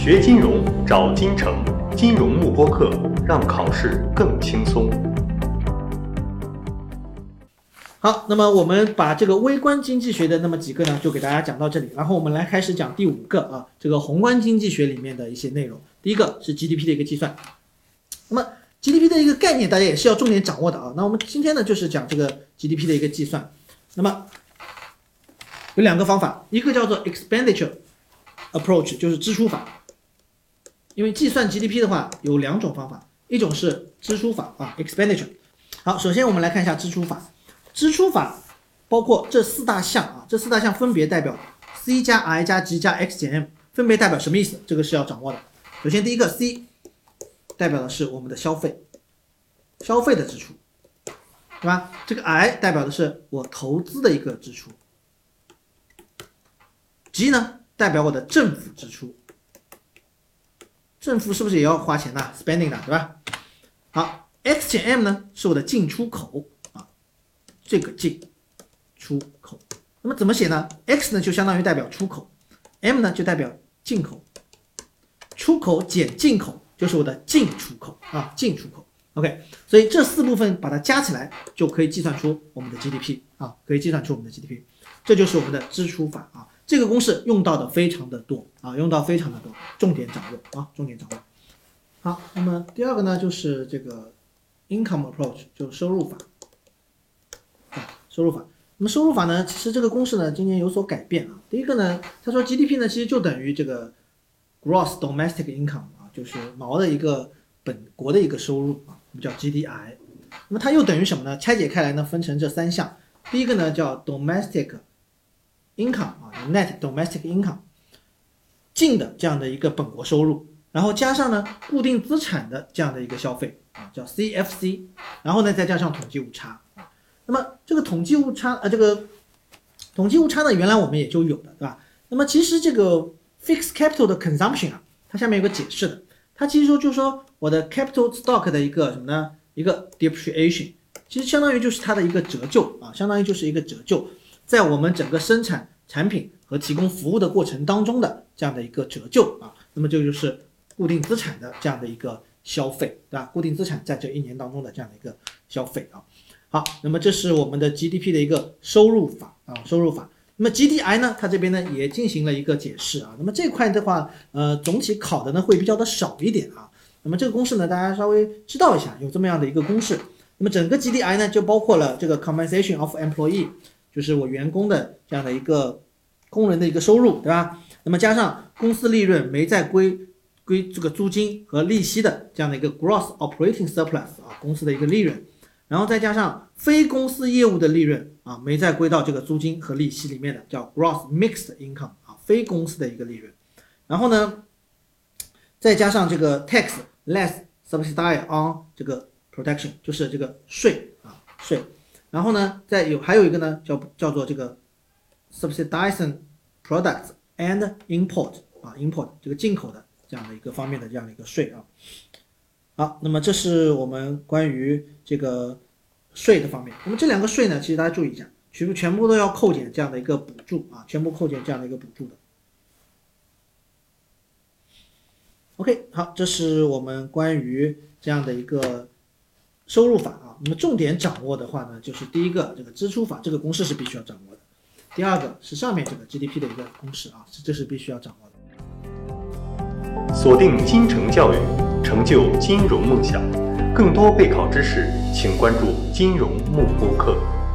学金融找金城，金融慕播课，让考试更轻松。 好，那么我们把这个微观经济学的那么几个呢，就给大家讲到这里，然后我们来开始讲第5个啊，这个宏观经济学里面的一些内容。第一个是 GDP 的一个计算。那么 GDP 的一个概念大家也是要重点掌握的啊。那我们今天呢就是讲这个 GDP 的一个计算。那么有2个方法，一个叫做 expenditure approach， 就是支出法。因为计算 GDP 的话有2种方法，一种是支出法啊 expenditure。好，首先我们来看一下支出法。支出法包括这4大项啊，这4大项分别代表 C 加 I 加 G 加 X 减 M， 分别代表什么意思？这个是要掌握的。首先第一个 C 代表的是我们的消费的支出，对吧？这个 I 代表的是我投资的一个支出。G 呢代表我的政府支出，政府是不是也要花钱的 spending 的，对吧？好， X 减 M 呢是我的进出口啊，这个进出口。那么怎么写呢？ X 呢就相当于代表出口， M 呢就代表进口，出口减进口就是我的进出口啊，进出口。OK， 所以这4部分把它加起来就可以计算出我们的 GDP 啊，可以计算出我们的 GDP， 这就是我们的支出法啊。这个公式用到的非常的多啊，用到非常的多，重点掌握啊，重点掌握。好，那么第2个呢就是这个 income approach， 就是收入法啊，收入法。那么收入法呢，其实这个公式呢今年有所改变啊。第一个呢，他说 GDP 呢其实就等于这个 gross domestic income 啊，就是毛的一个本国的一个收入啊，我们叫 GDI。那么它又等于什么呢？拆解开来呢，分成这3项。第一个呢叫 domestic income 啊 ，net domestic income， 净的这样的一个本国收入，然后加上呢固定资产的这样的一个消费啊，叫 CFC， 然后呢再加上统计误差。那么这个统计误差呢，原来我们也就有的，对吧？那么其实这个 fixed capital 的 consumption 啊，它下面有个解释的，它其实就是说我的 capital stock 的一个什么呢？一个 depreciation， 其实相当于就是它的一个折旧啊，相当于就是一个折旧。在我们整个生产产品和提供服务的过程当中的这样的一个折旧啊，那么这就是固定资产的这样的一个消费，对吧？固定资产在这1年当中的这样的一个消费啊。好，那么这是我们的 GDP 的一个收入法啊，收入法。那么 GDI 呢，它这边呢也进行了一个解释啊。那么这块的话，总体考的呢会比较的少一点啊。那么这个公式呢，大家稍微知道一下，有这么样的一个公式。那么整个 GDI 呢就包括了这个 compensation of employee，就是我员工的这样的一个工人的一个收入，对吧？那么加上公司利润没再归这个租金和利息的这样的一个 gross operating surplus 啊，公司的一个利润，然后再加上非公司业务的利润啊，没再归到这个租金和利息里面的，叫 gross mixed income 啊，非公司的一个利润。然后呢，再加上这个 tax less subsidy on 这个 production， 就是这个税啊，税。然后呢，还有一个呢，叫做这个 subsidizing products and import 啊 ，import 这个进口的这样的一个方面的这样的一个税啊。好，那么这是我们关于这个税的方面。那么这2个税呢，其实大家注意一下，全部都要扣减这样的一个补助啊，全部扣减这样的一个补助的。OK， 好，这是我们关于这样的一个收入法啊。那么重点掌握的话呢，就是第一个这个支出法，这个公式是必须要掌握的。第2个是上面这个 GDP 的一个公式啊，这是必须要掌握的。锁定金城教育，成就金融梦想。更多备考知识，请关注金融慕播课。